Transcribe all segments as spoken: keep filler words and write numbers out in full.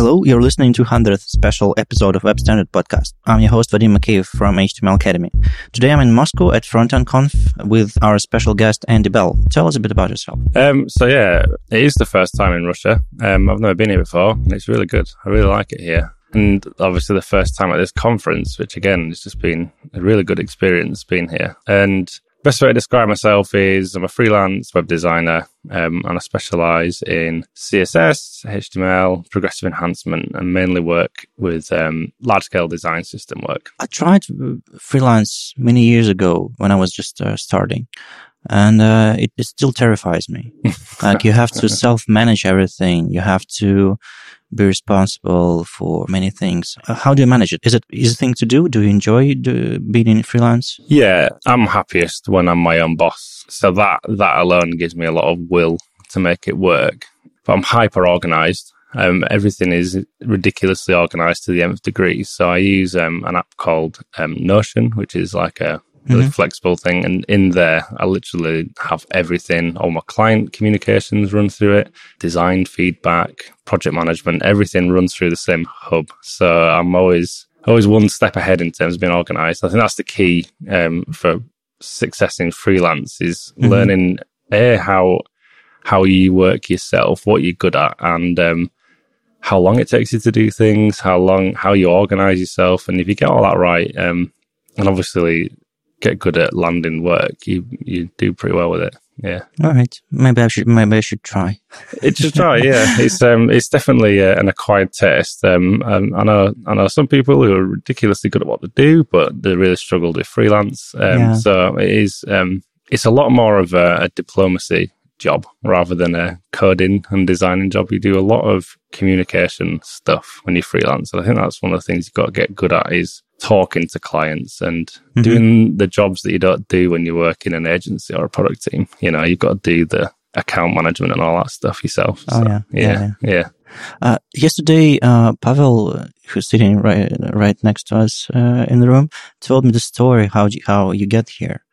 Hello, you're listening to one hundredth special episode of Web Standard Podcast. I'm your host, Vadim Makeyev from H T M L Academy. Today I'm in Moscow at Frontend Conf with our special guest, Andy Bell. Tell us a bit about yourself. Um, so yeah, it is the first time in Russia. Um, I've never been here before, and it's really good. I really like it here. And obviously the first time at this conference, which again, has just been a really good experience being here. And best way to describe myself is I'm a freelance web designer, um, and I specialize in C S S, H T M L, progressive enhancement, and mainly work with um, large-scale design system work. I tried freelance many years ago when I was just uh, starting, and uh, it, it still terrifies me. Like, you have to self-manage everything. You have to be responsible for many things. Uh, how do you manage it? Is it easy thing to do? Do you enjoy do, being in freelance? Yeah, I'm happiest when I'm my own boss. So that that alone gives me a lot of will to make it work. But I'm hyper organized. Um, everything is ridiculously organized to the nth degree. So I use um, an app called um, Notion, which is like a really mm-hmm. flexible thing. And in there, I literally have everything. All my client communications run through it, design feedback, project management, everything runs through the same hub. So I'm always always one step ahead in terms of being organized. I think that's the key um, for success in freelance is mm-hmm. learning A, how how you work yourself, what you're good at, and um, how long it takes you to do things, how long how you organize yourself. And if you get all that right, um, and obviously get good at landing work, you you do pretty well with it. Yeah. All right. Maybe I should maybe I should try. It should try. Yeah. It's um it's definitely uh, an acquired taste. Um, um I know I know some people who are ridiculously good at what they do, but they really struggled with freelance. Um, yeah. So it is um it's a lot more of a, a diplomacy job rather than a coding and designing job. You do a lot of communication stuff when you freelance, and I think that's one of the things you've got to get good at is talking to clients and mm-hmm. doing the jobs that you don't do when you work in an agency or a product team. You know, you've got to do the account management and all that stuff yourself. Oh, so, yeah. Yeah. Yeah. yeah. Uh, yesterday, uh, Pavel, who's sitting right, right next to us, uh, in the room, told me the story, how you, how you get here.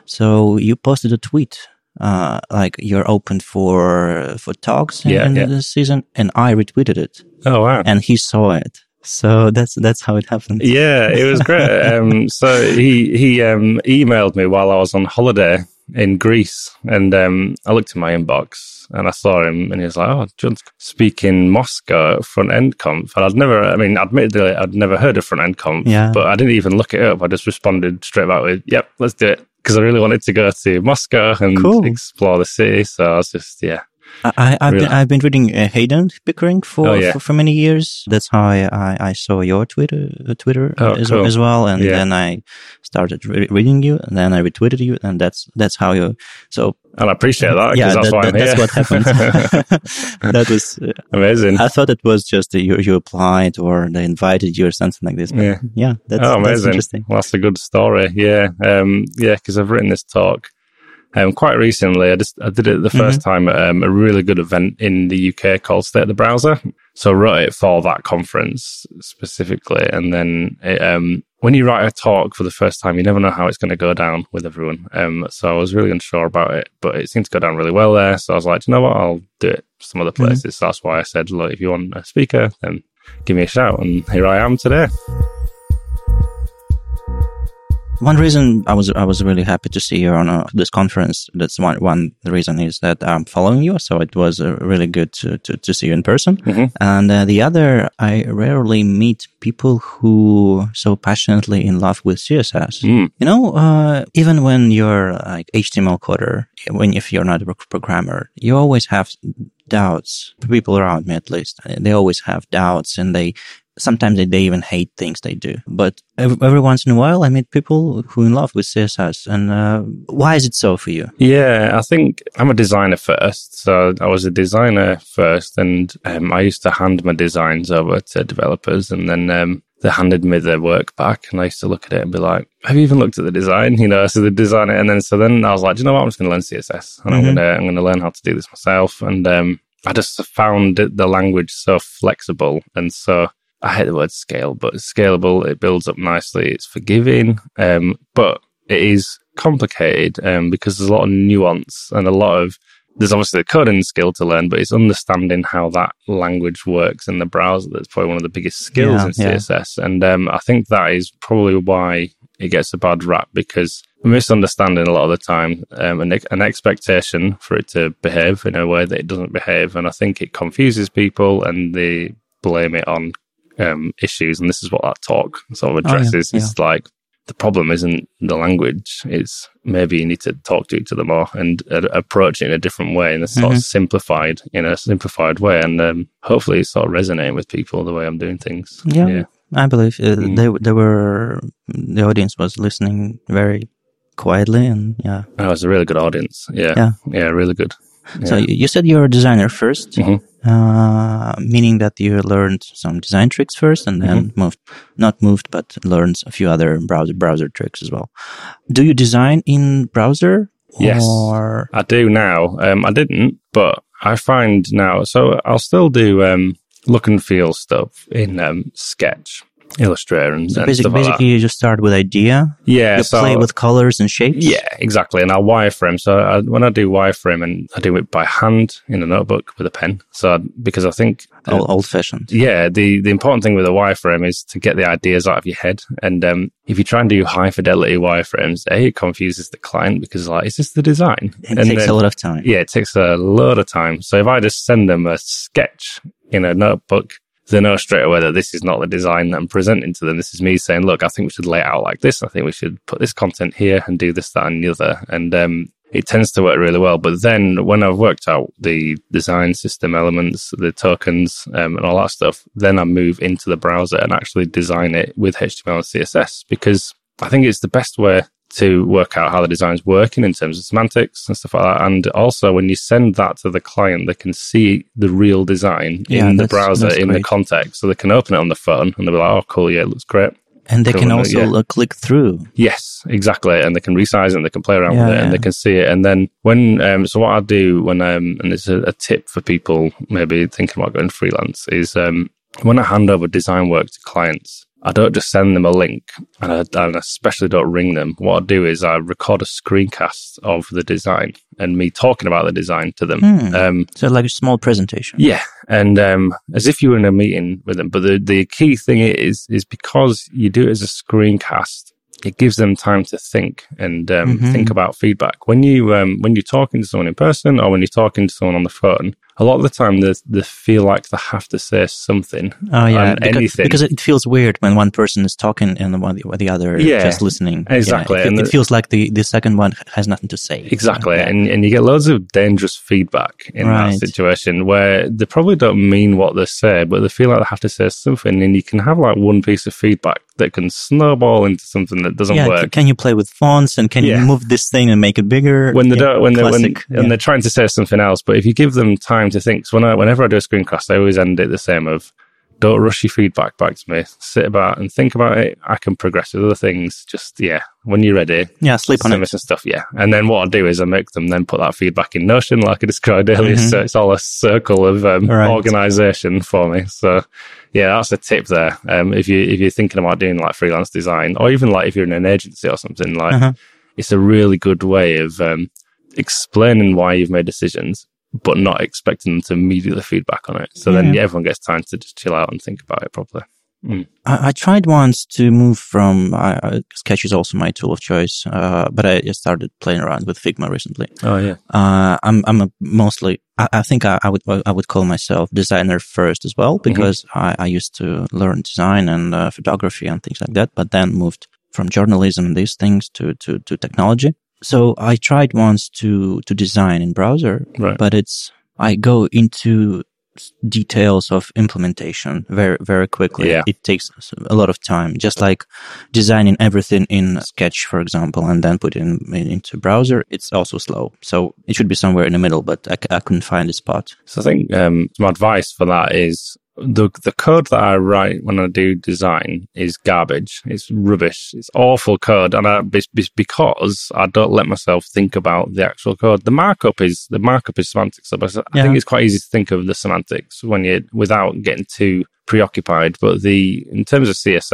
So you posted a tweet, uh, like you're open for, for talks in, yeah, in yeah. this season, and I retweeted it. Oh, wow. And he saw it. So that's that's how it happened. Yeah, it was great. um, so he he um, emailed me while I was on holiday in Greece, and um, I looked in my inbox and I saw him, and he was like, "Oh, John's speaking Moscow at Front End Conf." And I'd never, I mean, admittedly, I'd never heard of Front End Conf, yeah. but I didn't even look it up. I just responded straight back with, "Yep, let's do it," because I really wanted to go to Moscow and cool. explore the city. So I was just, yeah. I, I've really? been I've been reading uh, Hayden Pickering for, oh, yeah. for for many years. That's how I, I, I saw your Twitter uh, Twitter oh, as, cool. as well, and yeah. then I started re- reading you, and then I retweeted you, and that's that's how you. So and I appreciate that. Yeah, that's that, why that, I'm here. that's what happened. That was uh, amazing. I thought it was just uh, you you applied or they invited you or something like this. But yeah, yeah, that's, oh, amazing. that's interesting. Well, that's a good story. Yeah, um, yeah, because I've written this talk. Um, quite recently, I just I did it the first mm-hmm. time at um, a really good event in the U K called State of the Browser. So I wrote it for that conference specifically. And then it, um, when you write a talk for the first time, you never know how it's going to go down with everyone. Um, so I was really unsure about it, but it seemed to go down really well there. So I was like, you know what, I'll do it some other places. Mm-hmm. So that's why I said, look, if you want a speaker, then give me a shout. And here I am today. One reason I was I was really happy to see you on uh, this conference. That's one one reason is that I'm following you, so it was uh, really good to, to, to see you in person. Mm-hmm. And uh, the other, I rarely meet people who are so passionately in love with C S S. Mm. You know, uh, even when you're like H T M L coder, when if you're not a programmer, you always have doubts. People around me, at least, they always have doubts, and they. Sometimes they, they even hate things they do. But every, every once in a while, I meet people who are in love with C S S. And uh, why is it so for you? Yeah, I think I'm a designer first. So I was a designer first, and um, I used to hand my designs over to developers, and then um, they handed me their work back, and I used to look at it and be like, have you even looked at the design? You know, so the design it. And then, so then I was like, do you know what? I'm just going to learn C S S, and mm-hmm. I'm going to, I'm going to learn how to do this myself. And um, I just found the language so flexible and so, I hate the word scale, but it's scalable. It builds up nicely. It's forgiving, um, but it is complicated um, because there's a lot of nuance and a lot of there's obviously the coding skill to learn, but it's understanding how that language works in the browser that's probably one of the biggest skills Yeah, in yeah. C S S. And um, I think that is probably why it gets a bad rap, because misunderstanding a lot of the time, um, an, an expectation for it to behave in a way that it doesn't behave. And I think it confuses people and they blame it on um, issues. And this is what that talk sort of addresses. Oh, yeah, It's like, the problem isn't the language. It's maybe you need to talk to each other more and uh, approach it in a different way, in a sort Mm-hmm. of simplified, in a simplified way. And um, hopefully it's sort of resonating with people the way I'm doing things. Yeah, Yeah. I believe uh, Mm. they they were the audience was listening very quietly, and yeah. Oh, it's a really good audience. Yeah. Yeah. Yeah, really good. So Yeah. you you said you're a designer 1st Mhm. uh, meaning that you learned some design tricks first, and then Mm-hmm. moved, not moved, but learned a few other browser browser tricks as well. Do you design in browser? Yes. Or I do now. Um, I didn't, but I find now, so I'll still do um, look and feel stuff in um, Sketch, Illustrator, and, so and basic, stuff like basically that. you just start with idea. Yeah, You so play with colors and shapes. yeah, exactly. And I'll wireframe. So I, when I do wireframe, and I do it by hand in a notebook with a pen. So I, because I think, uh, Old, old fashioned. yeah, the the important thing with a wireframe is to get the ideas out of your head. And um, if you try and do high fidelity wireframes, a it confuses the client because like, is this the design? It and takes then, a lot of time. Yeah, it takes a lot of time. So if I just send them a sketch in a notebook, they know straight away that this is not the design that I'm presenting to them. This is me saying, look, I think we should lay it out like this. I think we should put this content here and do this, that, and the other. And um, it tends to work really well. But then when I've worked out the design system elements, the tokens, um, and all that stuff, then I move into the browser and actually design it with H T M L and C S S, because I think it's the best way to work out how the design's working in terms of semantics and stuff like that. And also, when you send that to the client, they can see the real design Yeah, in the that's- browser, that's in the great. context. So they can open it on the phone and they'll be like, oh, cool, yeah, it looks great. And they Cool, can no, also yeah. uh, click through. Yes, exactly. And they can resize it and they can play around Yeah, with it and yeah. they can see it. And then when, um, so what I do when, um, and it's a, a tip for people maybe thinking about going freelance, is um, when I hand over design work to clients, I don't just send them a link, and I, and I especially don't ring them. What I do is I record a screencast of the design and me talking about the design to them. Hmm. Um, So like a small presentation. yeah, and um, as if you were in a meeting with them. But the, the key thing is, is because you do it as a screencast, it gives them time to think and um, Mhm. think about feedback. When you um, when you're talking to someone in person or when you're talking to someone on the phone, a lot of the time they they feel like they have to say something. Oh yeah, on because, anything. because it feels weird when one person is talking and the one the, the other Yeah, just listening. exactly. Yeah, it, And it the- feels like the, the second one has nothing to say. Exactly. Yeah. And and you get loads of dangerous feedback in Right. that situation where they probably don't mean what they say, but they feel like they have to say something. And you can have like one piece of feedback that can snowball into something that doesn't Yeah, work. c- can you play with fonts and can Yeah. you move this thing and make it bigger? when they Yeah, don't, when they when classic. and Yeah. they're trying to say something else, but if you give them time to think, so when I, whenever I do a screencast, I always end it the same of, don't rush your feedback back to me. Sit about and think about it. I can progress with other things. Just yeah, when you're ready, Yeah, sleep on send me it. some stuff. Yeah, and then what I do is I make them then put that feedback in Notion, like I described earlier. Mhm. So it's all a circle of um, Right. organization for me. So yeah, that's a tip there. Um, if you if you're thinking about doing like freelance design, or even like if you're in an agency or something, like Uh-huh. it's a really good way of um, explaining why you've made decisions, but not expecting them to immediately feedback on it. So then Yeah. everyone gets time to just chill out and think about it properly. Mm. I, I tried once to move from, uh, uh, Sketch is also my tool of choice, uh, but I just started playing around with Figma recently. Oh yeah. Uh, I'm, I'm a mostly, I, I think I, I would, I would call myself designer first as well, because I, I used to learn design and uh, photography and things like that, but then moved from journalism and these things to, to, to technology. So I tried once to, to design in browser, Right. but it's, I go into details of implementation very, very quickly. Yeah. It takes a lot of time, just like designing everything in Sketch, for example, and then put it in, in, into browser. It's also slow. So it should be somewhere in the middle, but I, I couldn't find a spot. So I think um, my advice for that is the the code that I write when I do design is garbage. It's rubbish. It's awful code, and I, it's because I don't let myself think about the actual code. The markup is the markup is semantics. So I Yeah. think it's quite easy to think of the semantics when you without getting too preoccupied. But the in terms of C S S,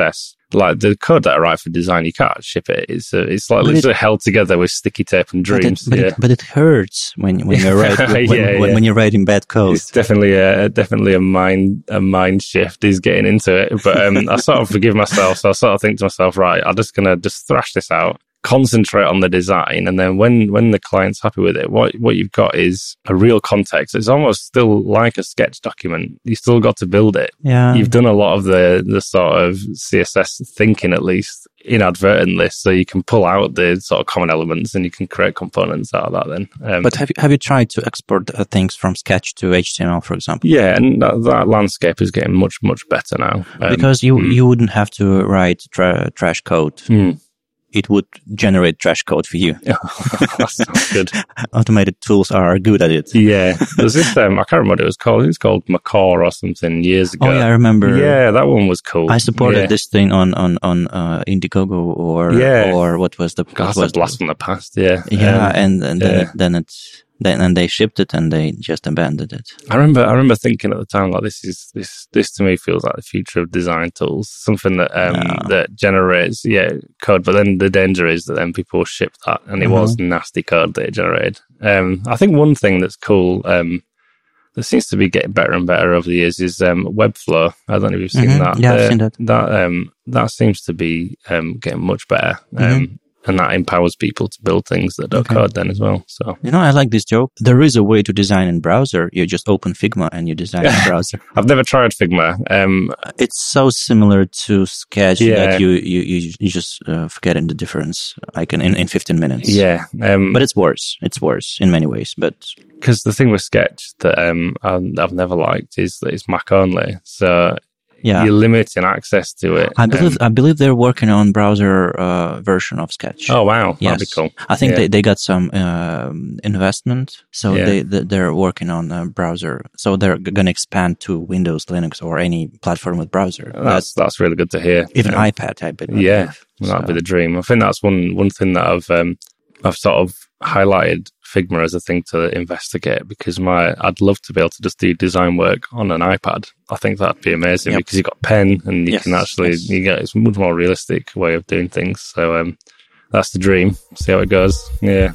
like the code that I write for design, you can't ship it. It's uh, it's like it's it, held together with sticky tape and dreams. But it, but, yeah. it, but it hurts when when you're writing when, yeah, when, yeah. when you're writing bad code. It's definitely a definitely a mind a mind shift is getting into it. But um, I sort of forgive myself, so I sort of think to myself, right, I'm just gonna just thrash this out, concentrate on the design, and then when when the client's happy with it, what what you've got is a real context. It's almost still like a sketch document. You still got to build it. Yeah, you've done a lot of the the sort of C S S thinking, at least inadvertently, so you can pull out the sort of common elements and you can create components out of that. Then, um, but have you have you tried to export uh, things from Sketch to H T M L, for example? Yeah, and that, that landscape is getting much much better now um, because you mm. you wouldn't have to write tra- trash code. Mm. It would generate trash code for you. That sounds good. Automated tools are good at it. Yeah. There's this, um, I can't remember what it was called. It was called Macaw or something years ago. Oh, yeah, I remember. Yeah, that one was cool. I supported yeah. this thing on, on, on, uh, Indiegogo or, yeah. or what was the, God, what that's a was blast the, from the past. Yeah. Yeah. Um, and, and then, yeah. It, then it's, then, and they shipped it and they just abandoned it. I remember, I remember thinking at the time, like, this is, this, this to me feels like the future of design tools, something that, um, no. that generates, yeah, code. But then the danger is that then people ship that and it mm-hmm. was nasty code that it generated. Um, I think one thing that's cool, um, that seems to be getting better and better over the years is, um, Webflow. I don't know if you've seen mm-hmm. that. Yeah, uh, I've seen that. That, um, that seems to be, um, getting much better. Um, mm-hmm. And that empowers people to build things that don't okay. code then as well. So, you know, I like this joke. There is a way to design in browser. You just open Figma and you design in browser. I've never tried Figma. Um, it's so similar to Sketch yeah. that you you you, you just uh, forgetting the difference, like in, in fifteen minutes. Yeah, um, but it's worse. It's worse in many ways. But because the thing with Sketch that um, I've never liked is that it's Mac only. So. Yeah. You're limiting access to it. I believe um, I believe they're working on browser uh, version of Sketch. Oh wow, yes. That'd be cool. I think yeah. they, they got some uh, investment, so yeah. they, they they're working on a browser. So they're going to expand to Windows, Linux, or any platform with browser. That's that's, that's really good to hear. Even um, iPad, I believe. Yeah, so. That'd be the dream. I think that's one one thing that I've um, I've sort of highlighted Figma as a thing to investigate because my I'd love to be able to just do design work on an iPad. I think that'd be amazing yep. because you've got pen and you yes, can actually yes. you get it's a much more realistic way of doing things. So um, that's the dream. See how it goes. Yeah.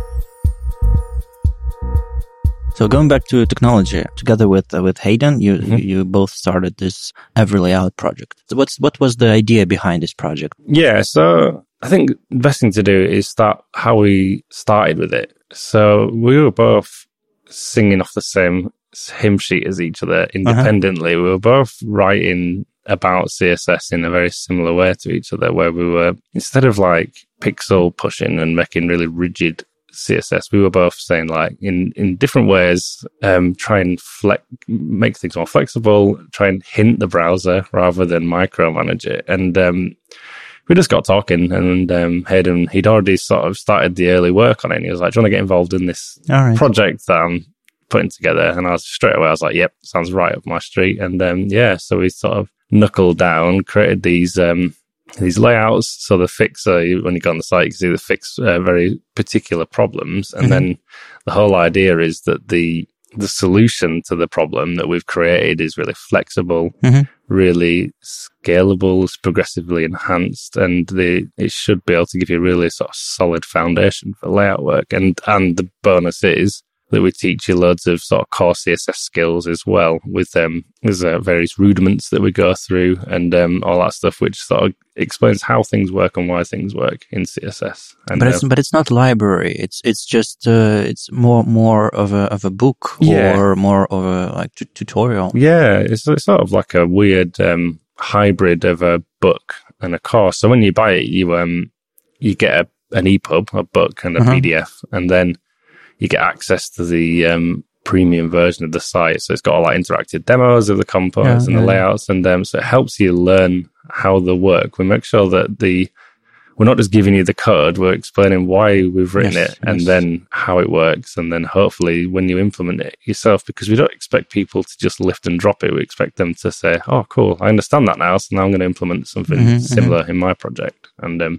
So going back to technology, together with uh, with Hayden, you mm-hmm. you both started this Every Layout project. So what's what was the idea behind this project? Yeah, so I think the best thing to do is start how we started with it. So we were both singing off the same hymn sheet as each other independently. Uh-huh. We were both writing about C S S in a very similar way to each other, where we were, instead of like pixel pushing and making really rigid C S S, we were both saying like in, in different ways, um, try and flex, make things more flexible, try and hint the browser rather than micromanage it. And, um, we just got talking and, um, Hayden, he'd already sort of started the early work on it. And he was like, do you want to get involved in this right. project that I'm putting together? And I was straight away, I was like, yep, sounds right up my street. And, um, yeah, so we sort of knuckled down, created these, um, these layouts. So the fix, uh, when you go on the site, you can see the fix uh, very particular problems. And mm-hmm. then the whole idea is that the the solution to the problem that we've created is really flexible, mm-hmm. really scalable, progressively enhanced, and the it should be able to give you a really sort of solid foundation for layout work. And and the bonus is that we teach you loads of sort of core C S S skills as well with um there's uh, various rudiments that we go through and um all that stuff, which sort of explains how things work and why things work in C S S. And, but it's uh, but it's not library. It's it's just uh, it's more more of a of a book yeah. or more of a like t- tutorial. Yeah, it's, it's sort of like a weird um hybrid of a book and a course. So when you buy it, you um you get a, an E P U B, a book, and a uh-huh. P D F, and then you get access to the um, premium version of the site. So it's got all like interactive demos of the components yeah, and the yeah. layouts. And um, so it helps you learn how they work. We make sure that the we're not just giving you the code, we're explaining why we've written yes, it and yes. then how it works. And then hopefully when you implement it yourself, because we don't expect people to just lift and drop it. We expect them to say, oh, cool, I understand that now. So now I'm going to implement something mm-hmm, similar mm-hmm. in my project. And um,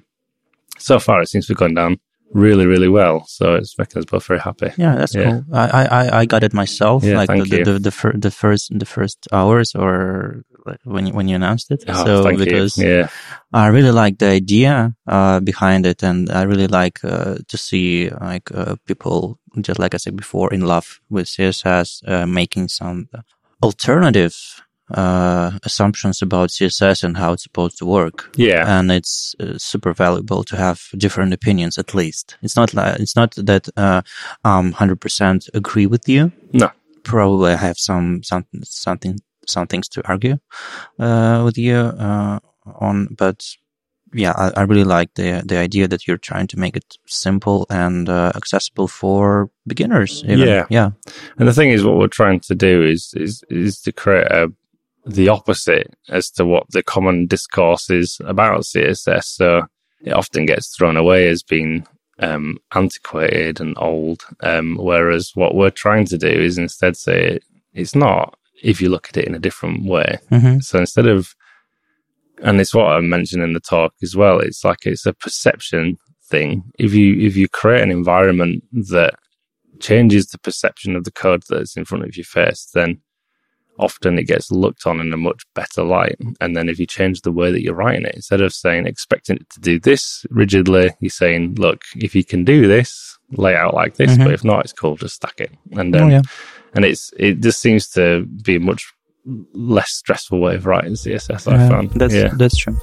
so far it seems to be going down really, really well. So it's making us both very happy. Yeah, that's yeah. cool. I, I, I got it myself. Yeah, like thank the, you. the, the, the, fir- the first the first hours or when you, when you announced it. Oh, so thank because you. Yeah. I really like the idea uh, behind it, and I really like uh, to see like uh, people, just like I said before, in love with C S S, uh, making some alternative uh, assumptions about C S S and how it's supposed to work. Yeah. And it's uh, super valuable to have different opinions. At least it's not like it's not that uh, um one hundred percent agree with you. No. Probably I have some some something some things to argue uh, with you uh, on, but yeah, I, I really like the the idea that you're trying to make it simple and uh, accessible for beginners. Even. Yeah, yeah. And the thing is, what we're trying to do is is is to create a the opposite as to what the common discourse is about C S S. So it often gets thrown away as being um, antiquated and old, um, whereas what we're trying to do is instead say it's not, if you look at it in a different way. Mm-hmm. So instead of, and it's what I mentioned in the talk as well, it's like it's a perception thing. If you if you create an environment that changes the perception of the code that's in front of your face, then often it gets looked on in a much better light. And then if you change the way that you're writing it, instead of saying, expecting it to do this rigidly, you're saying, look, if you can do this, lay it out like this, mm-hmm. but if not, it's cool, just stack it. And um, oh, yeah. and it's it just seems to be a much less stressful way of writing C S S, I uh, found. That's, yeah. that's true.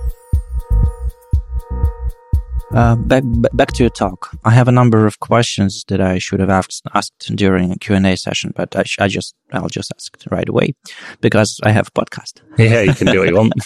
Uh, back back to your talk. I have a number of questions that I should have asked asked during a Q and A session, but I, sh- I just I'll just ask right away because I have a podcast. Yeah, you can do what you want.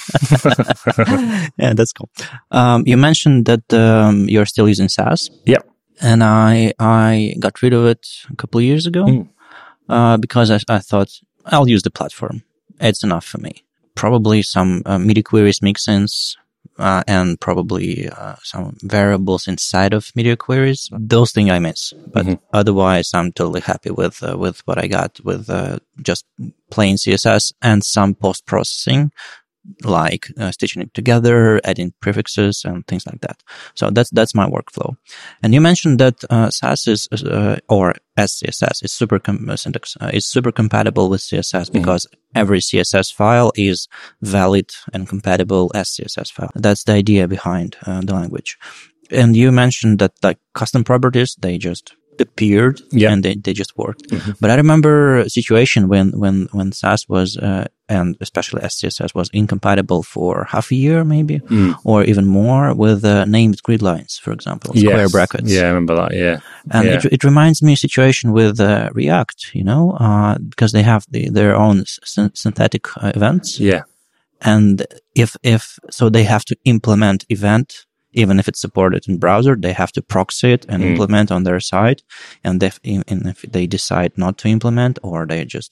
Yeah, that's cool. Um, you mentioned that um, you're still using Sass. Yep. And I I got rid of it a couple of years ago mm. uh, because I, I thought I'll use the platform. It's enough for me. Probably some uh, MIDI queries mix-ins. Uh, and probably uh, some variables inside of media queries. Those things I miss, but mm-hmm. otherwise I'm totally happy with uh, with what I got with uh, just plain C S S and some post processing, like uh, stitching it together, adding prefixes and things like that. So that's that's my workflow. And you mentioned that uh, Sass is uh, or S C S S is super com- syntax uh, is super compatible with C S S mm-hmm. because every C S S file is valid and compatible as C S S file. That's the idea behind uh, the language. And you mentioned that like custom properties, they just appeared yeah. and they, they just worked. Mm-hmm. But I remember a situation when, when, when Sass was, uh, and especially S C S S was incompatible for half a year maybe, mm. or even more with uh, named grid lines, for example, square yes. brackets. Yeah, I remember that, yeah. And yeah. it, it reminds me of a situation with uh, React, you know, uh, because they have the, their own sy- synthetic uh, events. Yeah. And if, if, so they have to implement event. Even if it's supported in browser, they have to proxy it and mm. implement on their side. And if, and if they decide not to implement or they're just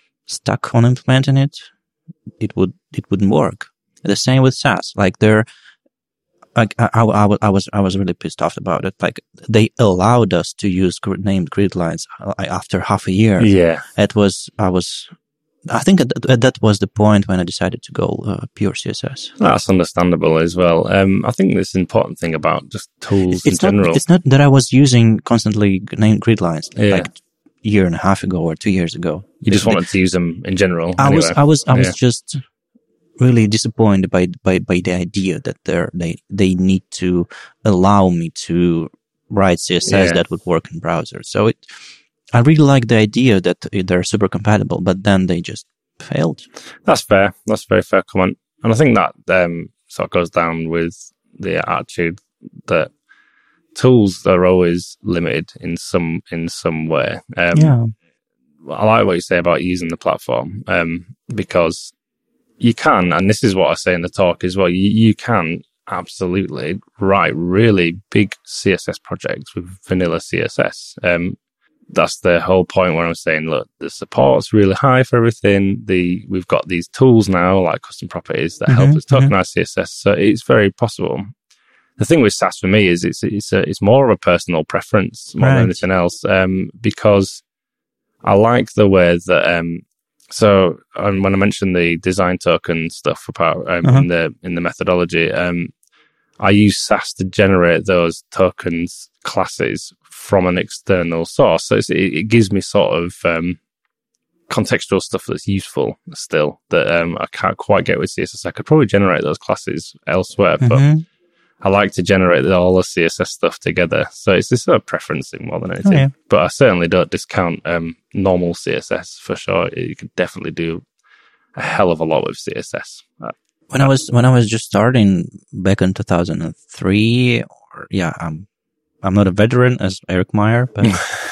stuck on implementing it, it would, it wouldn't work. The same with Sass. Like they're, like I, I, I, I was, I was really pissed off about it. Like they allowed us to use named grid lines after half a year. Yeah. It was, I was, I think that, that was the point when I decided to go uh, pure C S S. That's understandable as well. Um, I think this important thing about just tools it's in not, general. It's not that I was using constantly named grid lines yeah. like a year and a half ago or two years ago. You just they, wanted to use them in general. I anyway. was, I was, I yeah. was just really disappointed by by by the idea that they're, they they need to allow me to write C S S yeah. that would work in browser. So it. I really like the idea that they're super compatible, but then they just failed. That's fair. That's a very fair comment. And I think that um, sort of goes down with the attitude that tools are always limited in some in some way. Um, yeah. I like what you say about using the platform um, because you can, and this is what I say in the talk as well, you, you can absolutely write really big C S S projects with vanilla C S S. Um, That's the whole point where I'm saying, look, the support's really high for everything. The We've got these tools now, like custom properties, that mm-hmm, help us tokenize mm-hmm. C S S. So it's very possible. The thing with Sass for me is it's it's a, it's more of a personal preference more right. than anything else, um, because I like the way that. Um, so um, when I mentioned the design token stuff about um, uh-huh. in the in the methodology, um, I use Sass to generate those tokens classes from an external source. So it's, it, it gives me sort of um, contextual stuff that's useful still that um, I can't quite get with C S S. I could probably generate those classes elsewhere, but Mm-hmm. I like to generate all the C S S stuff together. So it's just a preference thing more than anything. Oh, yeah. But I certainly don't discount um, normal C S S for sure. You could definitely do a hell of a lot with C S S. Uh, When I was when I was just starting back in two thousand three, or yeah, I'm I'm not a veteran as Eric Meyer, but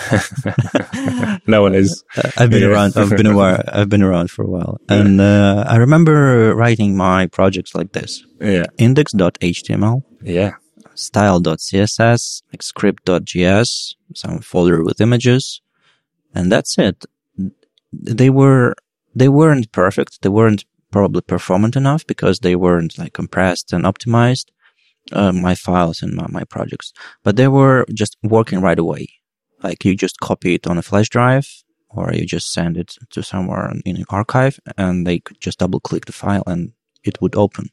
no one is. I've been Yeah. around. I've been around. I've been around for a while, and uh, I remember writing my projects like this: Yeah. index dot H T M L, Yeah. style dot C S S, like script dot J S, some folder with images, and that's it. They were they weren't perfect. They weren't probably performant enough because they weren't like compressed and optimized. Uh, my files and my, my projects, but they were just working right away. Like you just copy it on a flash drive, or you just send it to somewhere in an archive, and they could just double click the file and it would open.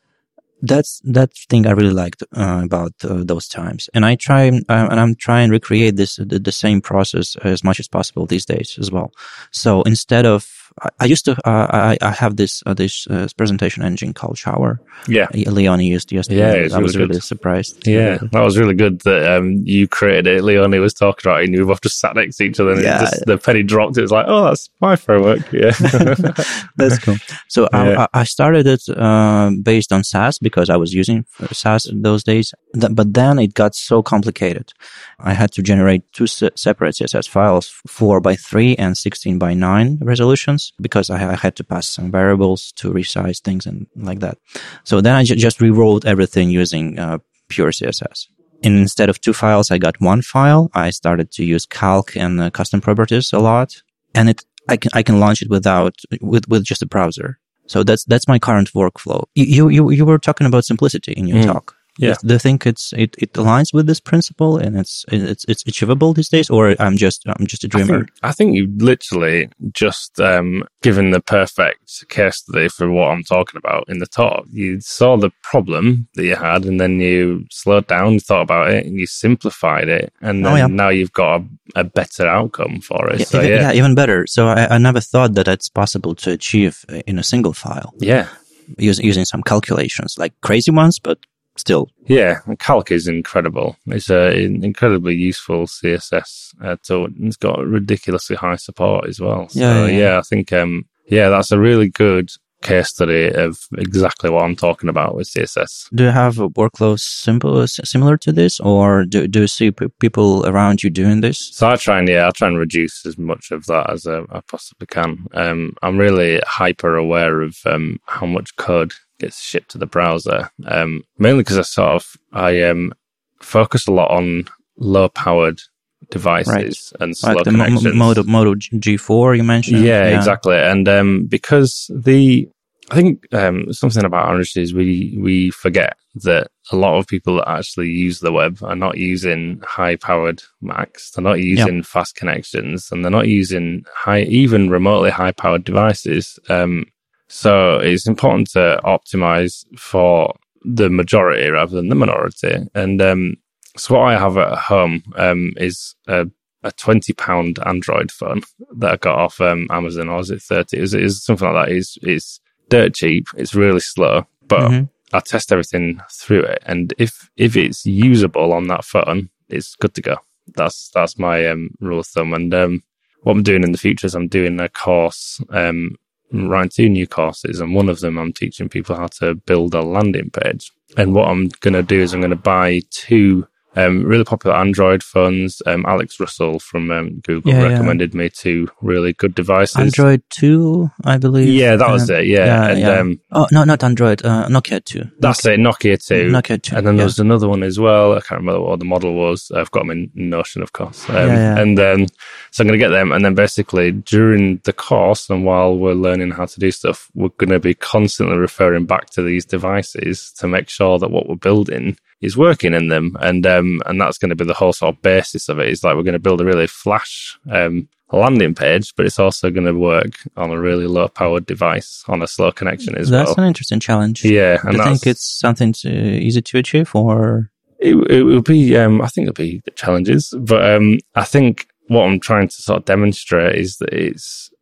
That's that thing I really liked uh, about uh, those times, and I try uh, and I'm trying to recreate this the, the same process as much as possible these days as well. So instead of I, I used to uh, I I have this uh, this uh, presentation engine called Shower. Yeah. Leone used yesterday. Yeah, it's I was really really good. surprised. Yeah, that was really good that um, you created it. Leone was talking about it, and you both just sat next to each other, and Yeah. it just, the penny dropped. It was like, oh, that's my framework. Yeah. That's cool. So Yeah. I, I started it uh, based on Sass because I was using Sass in those days. Th- but then it got so complicated. I had to generate two se- separate C S S files, four by three and sixteen by nine resolutions, because I, I had to pass some variables to resize things and like that. So then I ju- just rewrote everything using uh, pure C S S. And instead of two files, I got one file. I started to use calc and uh, custom properties a lot, and it I can I can launch it without with with just a browser. So that's that's my current workflow. You you you were talking about simplicity in your Mm. talk. Yeah. Do you think it's it, it aligns with this principle and it's it's it's achievable these days, or I'm just I'm just a I dreamer? think, I think you've literally just um, given the perfect case study for what I'm talking about in the talk. You saw the problem that you had, and then you slowed down, you thought about it, and you simplified it, and then Oh, yeah. now you've got a, a better outcome for it. Yeah, So even, yeah, yeah, even better. So I, I never thought that it's possible to achieve in a single file yeah. using using some calculations, like crazy ones, but still. Yeah, and Calc is incredible. It's an incredibly useful C S S uh, tool. It's got ridiculously high support as well. So, Yeah, yeah, yeah, yeah. I think, um, yeah, that's a really good case study of exactly what I'm talking about with C S S. Do you have a workflow simple similar to this, or do do you see p- people around you doing this? So I try and, yeah, I try and reduce as much of that as uh, I possibly can. Um, I'm really hyper aware of um, how much code gets shipped to the browser, um, mainly because I sort of, I um, focus a lot on low-powered devices Right. and slow Like the connections. Mo- Moto Moto G four you mentioned. Yeah, exactly. And um, because the, I think um, something about Orange is we we forget that a lot of people that actually use the web are not using high-powered Macs. They're not using fast connections, and they're not using high, even remotely high-powered devices. Um, so it's important to optimize for the majority rather than the minority. And um, so what I have at home um, is a a twenty pound Android phone that I got off um, Amazon, or was it thirty? It was, it was something like that. It's, it's dirt cheap. It's really slow, but Mhm. I test everything through it. And if, if it's usable on that phone, it's good to go. That's, that's my um, rule of thumb. And um, what I'm doing in the future is I'm doing a course, um, writing two new courses. And one of them, I'm teaching people how to build a landing page. And what I'm going to do is I'm going to buy two Um, really popular Android phones. Um, Alex Russell from um, Google Yeah, yeah. recommended me two really good devices. Android two, I believe. Yeah, that was Uh, it. Yeah, and Um, oh no, not Android. Uh, Nokia two. that's it. Nokia two. Nokia two. And then yeah. there was another one as well. I can't remember what the model was. I've got them in Notion, of course. Um, Yeah, yeah. And then, so I'm going to get them. And then basically during the course and while we're learning how to do stuff, we're going to be constantly referring back to these devices to make sure that what we're building is working in them. And, um, and that's going to be the whole sort of basis of it. Is like we're going to build a really flash, um, landing page, but it's also going to work on a really low powered device on a slow connection as That's well. an interesting challenge. Yeah. Do And you that's, think it's something to, easy to achieve, or? It, it will be, um, I think it'll be challenges, but um, I think what I'm trying to sort of demonstrate is that it's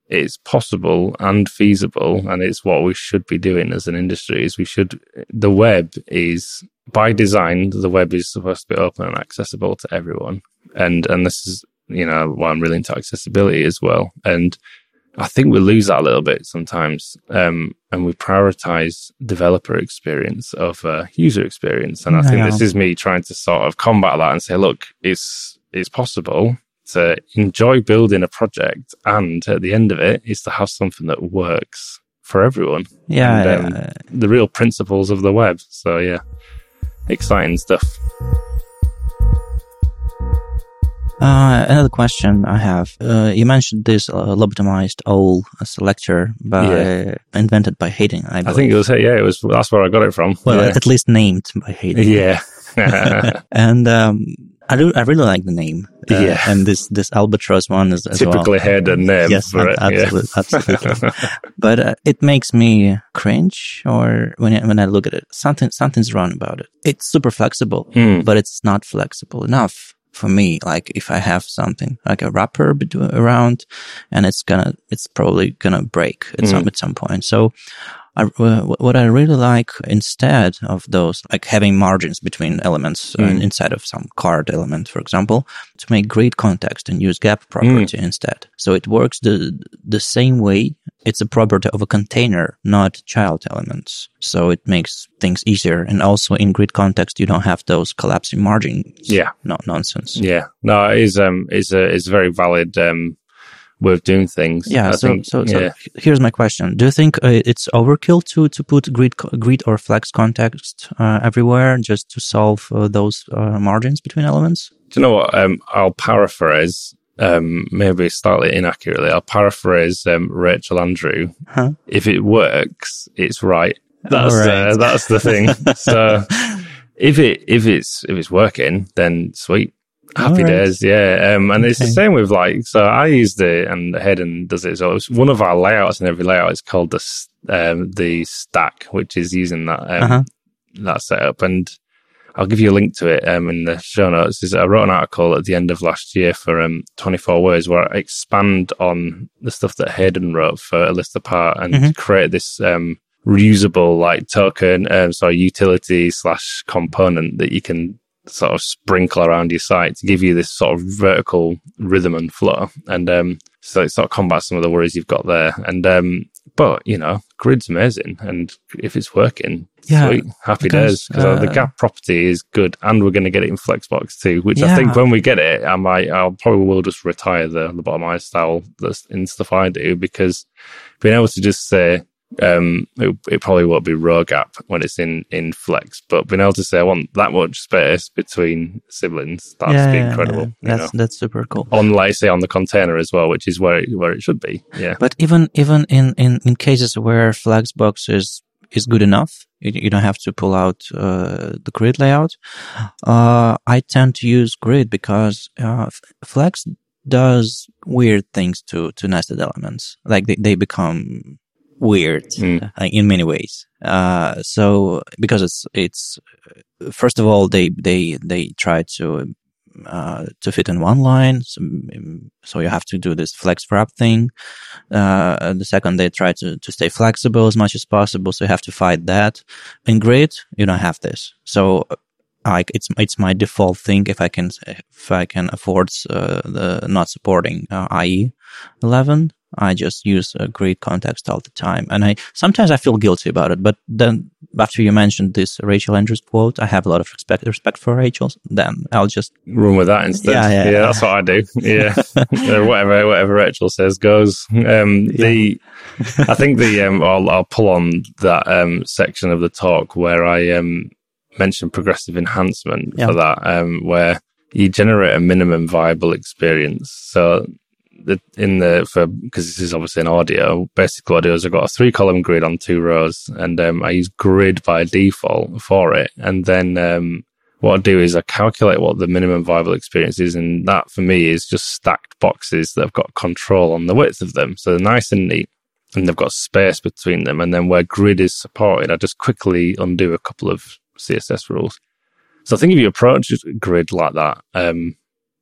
it's possible and feasible, and it's what we should be doing as an industry. Is we should the web is by design, the web is supposed to be open and accessible to everyone, and and this is you know why I'm really into accessibility as well. And I think we lose that a little bit sometimes, um, and we prioritize developer experience over user experience. And I think yeah. this is me trying to sort of combat that and say, look, it's it's possible to enjoy building a project, and at the end of it is to have something that works for everyone. Yeah, and, um, yeah. the real principles of the web. So yeah, exciting stuff. Uh, another question I have. Uh, you mentioned this uh, lobotomized O L selector by Yeah. invented by Hayden. I, I think it was yeah, it was that's where I got it from. well, yeah. at least named by Hayden. yeah. And um, I do. I really like the name. Uh, Yeah. And this this albatross one is as Typically well. Hayden name Yes, for it. absolutely, yeah. absolutely. But uh, it makes me cringe, or when I, when I look at it, something something's wrong about it. It's super flexible, Mm. but it's not flexible enough for me. Like if I have something like a wrapper between, around, and it's gonna, it's probably gonna break at Mm. some at some point. So. I, uh, what I really like instead of those, like having margins between elements uh, Mm. inside of some card element, for example, to make grid context and use gap property instead. So it works the the same way. It's a property of a container, not child elements. So it makes things easier. And also in grid context, you don't have those collapsing margins. Yeah. No nonsense. Yeah. No, it is um is a is a very valid um way of doing things. Yeah. I So, think, so, so yeah. here's my question: do you think uh, it's overkill to to put grid co- grid or flex context uh, everywhere just to solve uh, those uh, margins between elements? Do you know what? Um, I'll paraphrase, um, maybe slightly inaccurately. I'll paraphrase um, Rachel Andrew. Huh? If it works, it's right. That's All right. uh, that's the thing. So if it if it's if it's working, then sweet. Happy All right. days, yeah. Um, and it's the Okay. same with like, so I used it and Hayden does it. So it's one of our layouts in every layout is called the s- um, the stack, which is using that um, Uh-huh. that setup. And I'll give you a link to it um, in the show notes. Is I wrote an article at the end of last year for um, twenty-four Words where I expand on the stuff that Hayden wrote for A List Apart and Mhm. create this um, reusable like token, um, sorry, utility slash component that you can sort of sprinkle around your site to give you this sort of vertical rhythm and flow. And um, so it sort of combats some of the worries you've got there. And um, but, you know, Grid's amazing. And if it's working, Yeah, sweet, happy because, days. Because the uh, gap property is good. And we're going to get it in Flexbox too, which I Yeah. think when we get it, I might, I'll probably will just retire the, the bottomized style that's in stuff I do, because being able to just say, um, it, it probably won't be row gap when it's in, in Flex, but being able to say I want that much space between siblings, that's yeah, yeah, incredible. yeah. You That's know? that's super cool. On, like, say, on the container as well, which is where it, where it should be. Yeah. But even even in, in, in cases where Flexbox is is good enough, you, you don't have to pull out uh, the grid layout. Uh, I tend to use grid because uh, Flex does weird things to to nested elements. Like they, they become weird Mm. uh, in many ways. Uh, so because it's it's first of all they they they try to uh, to fit in one line, so, so you have to do this flex wrap thing. Uh, the second, they try to to stay flexible as much as possible, so you have to fight that. In Grid, you don't have this, so like it's it's my default thing if I can if I can afford uh, the not supporting uh, I E eleven. I just use a grid context all the time. And I sometimes I feel guilty about it. But then after you mentioned this Rachel Andrews quote, I have a lot of respect respect for Rachel. Then I'll just Run with that instead. Yeah, yeah. yeah that's what I do. Yeah. Uh, whatever whatever Rachel says goes. Um, the I think the um, I'll, I'll pull on that um, section of the talk where I um, mentioned progressive enhancement Yeah. for that, um, where you generate a minimum viable experience. So the, in the for because this is obviously an audio, basic audios, I've got a three column grid on two rows, and um, I use grid by default for it. And then um, what I do is I calculate what the minimum viable experience is, and that for me is just stacked boxes that have got control on the width of them, so they're nice and neat, and they've got space between them. And then where grid is supported, I just quickly undo a couple of C S S rules. So I think if you approach grid like that, um,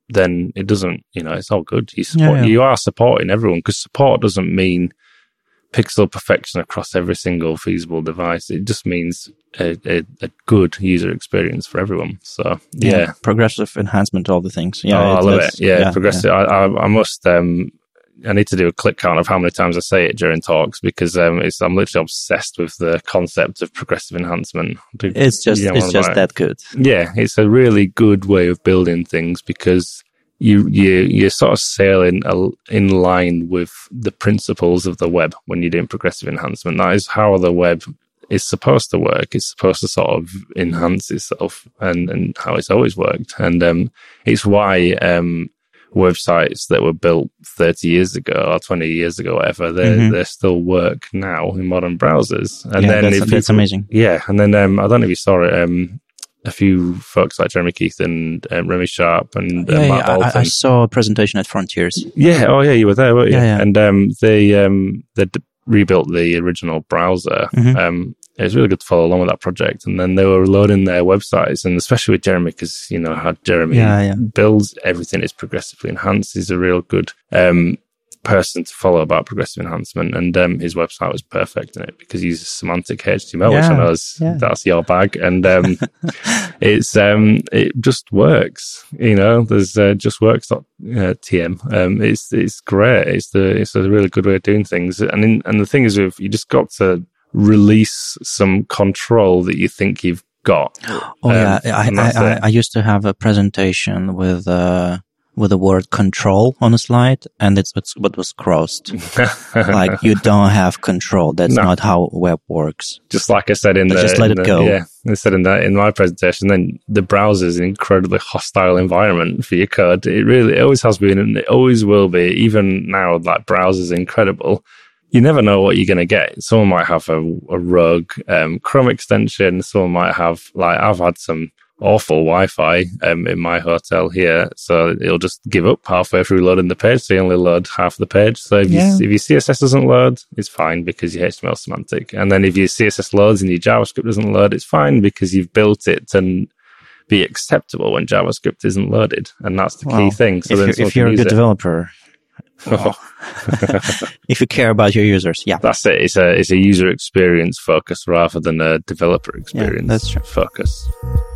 then it doesn't, you know, it's all good. You support, Yeah, yeah. you are supporting everyone, because support doesn't mean pixel perfection across every single feasible device. It just means a, a, a good user experience for everyone. So yeah, yeah. progressive enhancement, all the things. Yeah, oh, I love that's- it. Yeah, yeah, progressive. yeah. I, I, I must. Um, I need to do a click count of how many times I say it during talks, because um, it's, I'm literally obsessed with the concept of progressive enhancement. It's just You know it's what just I'm that good. Yeah, it's a really good way of building things, because you you you're sort of sailing in line with the principles of the web when you're doing progressive enhancement. That is how the web is supposed to work. It's supposed to sort of enhance itself, and, and how it's always worked. And um, it's why um, websites that were built thirty years ago or twenty years ago, whatever, they mm-hmm. they still work now in modern browsers. And yeah, then that's, if that's people, amazing. Yeah, and then um, I don't know if you saw it. Um, a few folks like Jeremy Keith and um, Remy Sharp and uh, yeah, Matt yeah, Bolton. I, I saw a presentation at Frontiers. Yeah, oh yeah, you were there, weren't you? Yeah, yeah. And um, they um, they d- rebuilt the original browser. Mm-hmm. Um, it was really good to follow along with that project. And then they were loading their websites, and especially with Jeremy, because you know how Jeremy yeah, yeah. builds everything is progressively enhanced. He's a real good um, person to follow about progressive enhancement, and um, his website was perfect in it because he uses semantic H T M L, yeah, which I know is, yeah. that's your bag, and um, it's um, it just works. You know, there's uh, just works T M. Um, it's it's great. It's the it's a really good way of doing things, and in, and the thing is, with you just got to release some control that you think you've got. Oh um, yeah, I I, I I used to have a presentation with. Uh... with the word control on a slide, and it's what was crossed. Like, you don't have control. That's no. not how web works. Just like I said in but the... Just let it the, go. Yeah, I said in that in my presentation, then the browser is an incredibly hostile environment for your code. It really it always has been, and it always will be. Even now, that browser's incredible. You never know what you're going to get. Someone might have a, a rogue um, Chrome extension. Someone might have, like, I've had some awful Wi-Fi um, in my hotel here, so it'll just give up halfway through loading the page, so you only load half the page. So if, yeah. you, if your C S S doesn't load, it's fine because your H T M L is semantic. And then if your C S S loads and your JavaScript doesn't load, it's fine because you've built it to be acceptable when JavaScript isn't loaded, and that's the well, key thing. So if then you're, if you're a good it. developer, well, if you care about your users, yeah, that's it. It's a it's a user experience focus rather than a developer experience yeah, that's true. focus.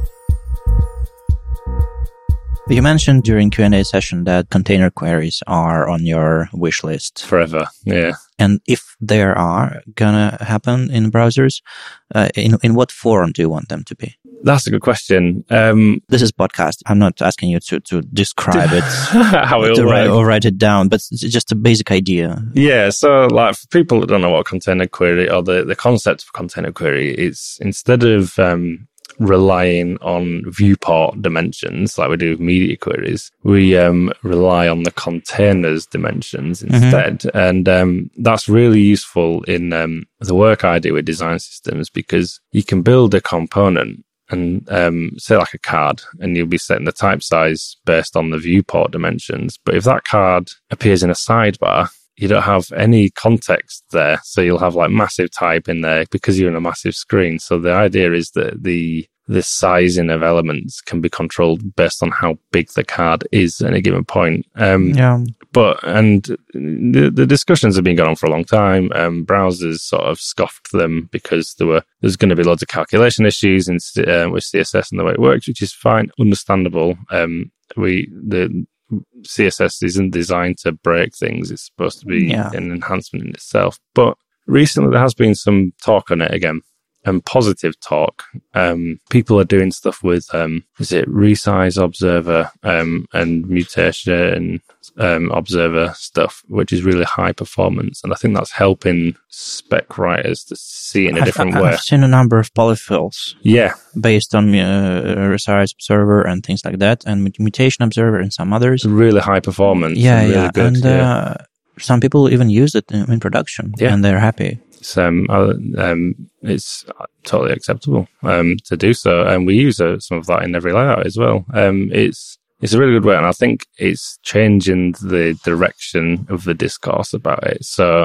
You mentioned during Q and A session that container queries are on your wish list. Forever, yeah. And if they are gonna happen in browsers, uh, in in what form do you want them to be? That's a good question. Um, this is podcast. I'm not asking you to, to describe it how it to will write, work. or write it down, but it's just a basic idea. Yeah, so like for people that don't know what a container query or the, the concept of container query, it's instead of um, relying on viewport dimensions like we do with media queries, we um, rely on the container's dimensions instead. Mm-hmm. And um, that's really useful in um, the work I do with design systems, because you can build a component and um, say like a card, and you'll be setting the type size based on the viewport dimensions. But if that card appears in a sidebar, you don't have any context there. So you'll have like massive type in there because you're in a massive screen. So the idea is that the the sizing of elements can be controlled based on how big the card is at any given point. Um, yeah. But, and the, the discussions have been going on for a long time. Um, browsers sort of scoffed them because there were, there's going to be loads of calculation issues in, uh, with C S S and the way it works, which is fine, understandable. Um, we, the, C S S isn't designed to break things. It's supposed to be yeah. an enhancement in itself. But recently there has been some talk on it again, and positive talk. Um, people are doing stuff with, um, is it resize observer um, and mutation um, observer stuff, which is really high performance. And I think that's helping spec writers to see it in a different I've, way. I've seen a number of polyfills. Yeah. Based on uh, resize observer and things like that, and mutation observer and some others. Really high performance. Yeah, and really yeah. Good, and yeah. Uh, some people even use it in, in production, yeah. and they're happy. It's, um, um, it's totally acceptable um, to do so, and we use uh, some of that in every layout as well. Um, it's it's a really good way, and I think it's changing the direction of the discourse about it. So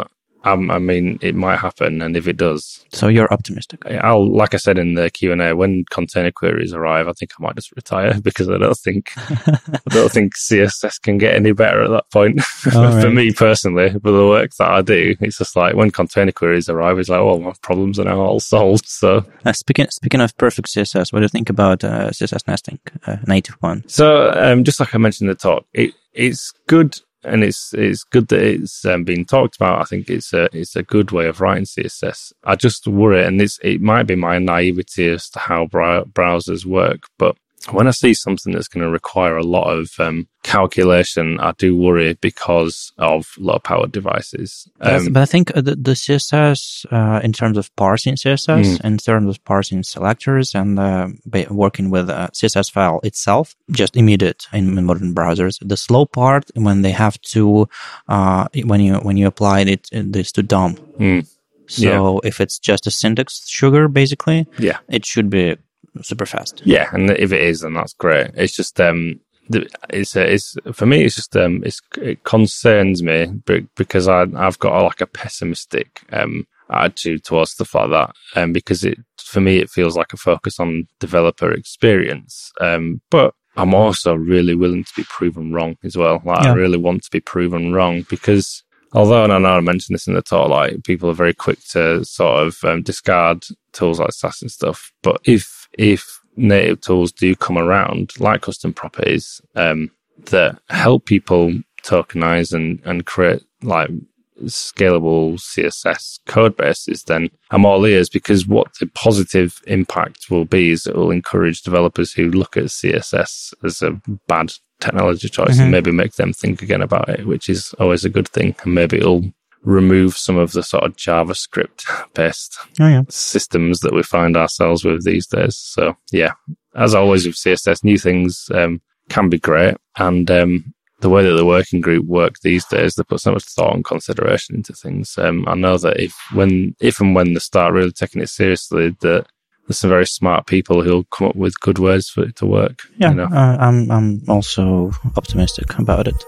Um, I mean, it might happen, and if it does, so you're optimistic. I'll, like I said in the Q and A, when container queries arrive, I think I might just retire because I don't think I don't think C S S can get any better at that point. Right. For me personally, for the work that I do, it's just like when container queries arrive, it's like, oh, my problems are now all solved. So, uh, speaking speaking of perfect C S S, what do you think about uh, C S S nesting, uh, native one? So, um, just like I mentioned in the talk, it it's good. And it's it's good that it's um, been talked about. I think it's a it's a good way of writing C S S. I just worry, and this it might be my naivety as to how brow- browsers work, but when I see something that's going to require a lot of um, calculation, I do worry because of low-powered devices. Um, but I think the, the C S S, uh, in terms of parsing C S S, mm. in terms of parsing selectors and uh, working with a C S S file itself, just immediate in, in modern browsers. The slow part, when they have to, uh, when you when you apply it, it is to D O M. Mm. So yeah. If it's just a syntax sugar, basically, yeah, it should be super fast. Yeah, and if it is, then that's great. It's just um, it's it's for me. It's just um, it's it concerns me because I I've got a, like a pessimistic um attitude towards stuff like that, um, because it for me it feels like a focus on developer experience. Um, but I'm also really willing to be proven wrong as well. Like yeah. I really want to be proven wrong because. Although, and I know I mentioned this in the talk, like people are very quick to sort of um, discard tools like Sass and stuff. But if if native tools do come around, like custom properties, um, that help people tokenize and, and create like scalable C S S code bases, then I'm all ears because what the positive impact will be is it will encourage developers who look at C S S as a bad technology choice mm-hmm. and maybe make them think again about it, which is always a good thing. And maybe it'll remove some of the sort of JavaScript based oh, yeah. systems that we find ourselves with these days. So yeah, as always with C S S, new things um, can be great. And um, the way that the working group work these days, they put so much thought and consideration into things. Um, I know that if when if and when they start really taking it seriously, that there's some very smart people who'll come up with good ways for it to work. Yeah, you know? uh, I'm I'm also optimistic about it.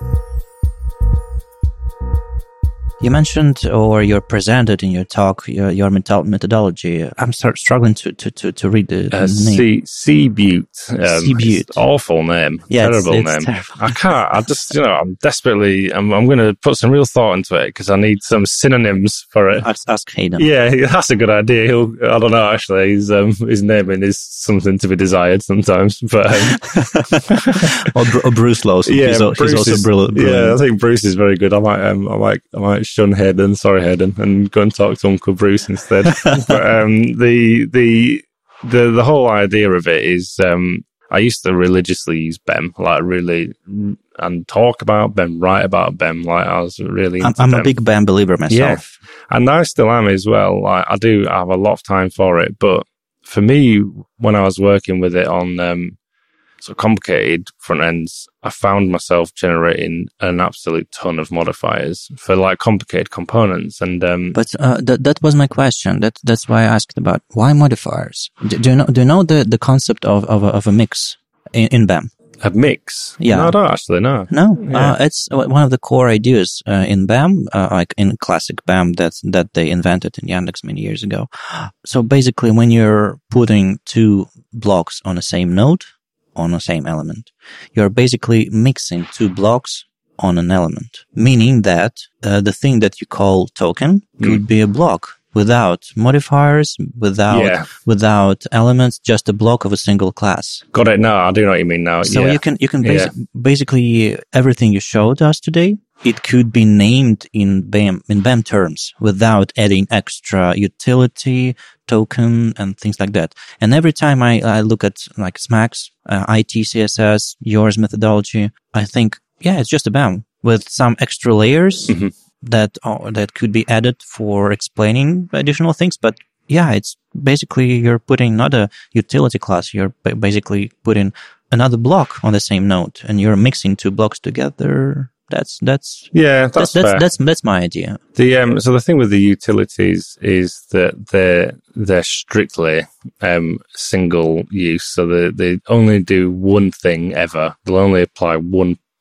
You mentioned, or you presented in your talk, your, your methodology. I'm start struggling to, to, to, to read the, the uh, name. C-Butte. Um, C-Butte. Awful name. Yeah, terrible it's, it's name. Terrible. I can't. I just, you know, I'm desperately, I'm, I'm going to put some real thought into it because I need some synonyms for it. Ask, ask Hayden. Yeah, that's a good idea. He'll, I don't know, actually. His, um, his naming is something to be desired sometimes. But um, or, or Bruce Lawson. Yeah, he's, Bruce he's also is, brilliant, brilliant. Yeah, I think Bruce is very good. I might, um, I might, I might shun Hayden. Sorry, Hayden, and go and talk to Uncle Bruce instead. But um, the the the the whole idea of it is, um, I used to religiously use B E M, like really, and talk about B E M, write about B E M. Like I was really. Into I'm, I'm B E M. a big B E M believer myself. Yeah, and I still am as well. Like I do have a lot of time for it, but for me, when I was working with it on um, sort of complicated front ends, I found myself generating an absolute ton of modifiers for like complicated components. And um, but uh, that that was my question. That that's why I asked about why modifiers. Do, do you know? Do you know the, the concept of of a, of a mix in, in B E M? A mix? Yeah, no, I don't actually know. No, yeah. uh, it's one of the core ideas uh, in B E M, uh, like in classic B E M that that they invented in Yandex many years ago. So basically, when you're putting two blocks on the same node, on the same element, you're basically mixing two blocks on an element, meaning that uh, the thing that you call token could mm. be a block without modifiers, without yeah. without elements, just a block of a single class. Got it. No, I do know what you mean now. So yeah. you can you can basi- yeah. basically everything you showed us today, it could be named in B E M in B E M terms without adding extra utility, token, and things like that. And every time I, I look at like Smax, uh, I T C S S, yours methodology, I think, yeah, it's just a B E M with some extra layers mm-hmm. that uh, that could be added for explaining additional things. But yeah, it's basically you're putting not a utility class, you're b- basically putting another block on the same node, and you're mixing two blocks together. That's that's yeah, that's that's that's, fair. that's that's my idea. The um, so the thing with the utilities is that they're they're strictly um single use, so they they only do one thing ever. They'll only apply one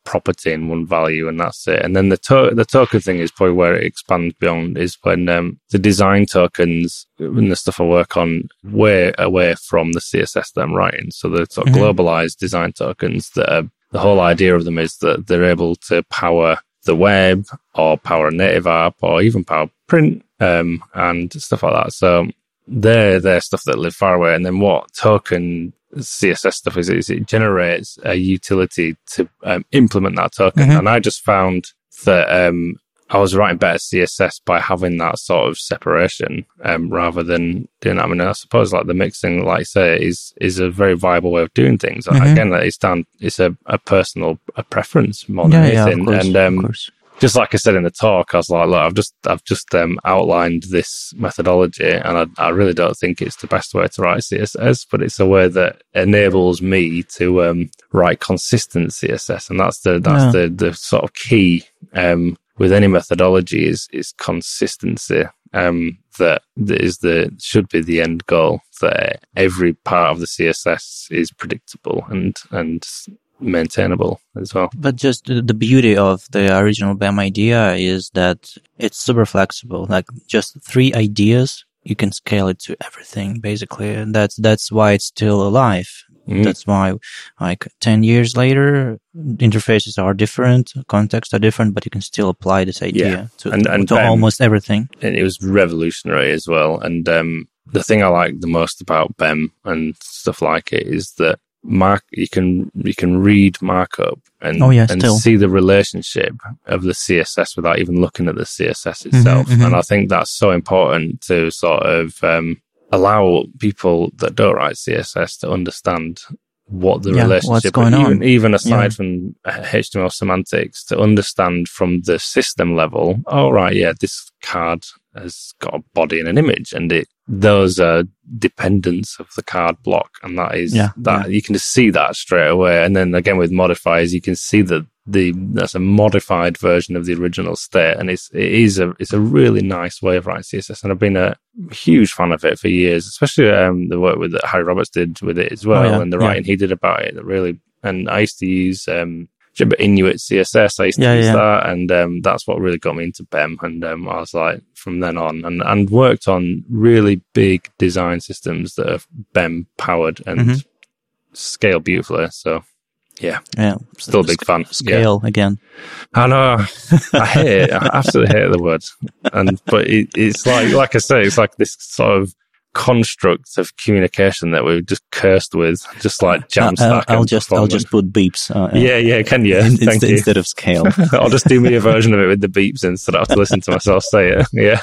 property and one value, and that's it. And then the to- the token thing is probably where it expands beyond, is when um, the design tokens and the stuff I work on way away from the C S S that I'm writing. So the sort of mm-hmm. globalized design tokens that are, the whole idea of them is that they're able to power the web or power a native app or even power print um, and stuff like that. So they're, they're stuff that live far away. And then what token C S S stuff is, is it generates a utility to um, implement that token. Mm-hmm. And I just found that um, I was writing better C S S by having that sort of separation um, rather than doing that. I mean, I suppose like the mixing, like I say, is is a very viable way of doing things. Mm-hmm. Again, it's down, it's a, a personal a preference more than yeah, anything. Yeah, of course, and um, of course. Just like I said in the talk, I was like, look, I've just I've just um, outlined this methodology, and I, I really don't think it's the best way to write C S S, but it's a way that enables me to um, write consistent C S S, and that's the that's yeah. the the sort of key um, with any methodology is is consistency. Um, that, that is the should be the end goal. That every part of the C S S is predictable and and maintainable as well. But just the beauty of the original B E M idea is that it's super flexible. Like just three ideas, you can scale it to everything basically. And that's, that's why it's still alive. Mm. That's why like ten years later, interfaces are different, contexts are different, but you can still apply this idea yeah. to, and, and to B E M, almost everything. And it was revolutionary as well. And um, the thing I like the most about B E M and stuff like it is that Mark, you can you can read markup and oh, yeah, and still. see the relationship of the C S S without even looking at the C S S itself. Mm-hmm, mm-hmm. And I think that's so important to sort of um, allow people that don't write C S S to understand what the yeah, relationship what's going even, on. even aside yeah. from H T M L semantics, to understand from the system level, oh right, yeah, this card has got a body and an image, and it those are dependents of the card block, and that is yeah, that yeah. you can just see that straight away. And then again with modifiers, you can see that the that's a modified version of the original state, and it's it is a it's a really nice way of writing C S S, and I've been a huge fan of it for years, especially um, the work with that Harry Roberts did with it as well, oh, yeah, and the writing yeah. he did about it. That really, and I used to use um, Inuit C S S. I used to yeah, use yeah. that, and um, that's what really got me into B E M. And um, I was like, from then on, and, and worked on really big design systems that are B E M powered and mm-hmm. scale beautifully. So, yeah, yeah, still a big sc- fan. Scale yeah. again. I know. I hate it. I absolutely hate the word. And but it, it's like, like I say, it's like this sort of construct of communication that we're just cursed with, just like Jamstack. I'll, I'll just I'll just put beeps. Uh, yeah, yeah, can you? In, Thank instead, you. Instead of scale. I'll just do me a version of it with the beeps instead. I have to listen to myself say it. Yeah.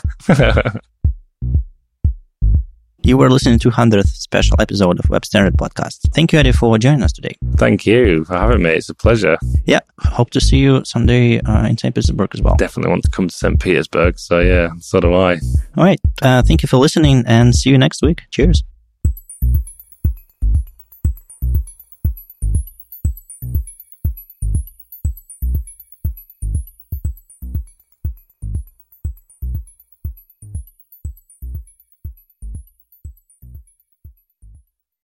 You were listening to one hundredth special episode of Web Standard Podcast. Thank you, Eddie, for joining us today. Thank you for having me. It's a pleasure. Yeah, hope to see you someday uh, in Saint Petersburg as well. Definitely want to come to Saint Petersburg. So yeah, so do I. All right. Uh, thank you for listening, and see you next week. Cheers.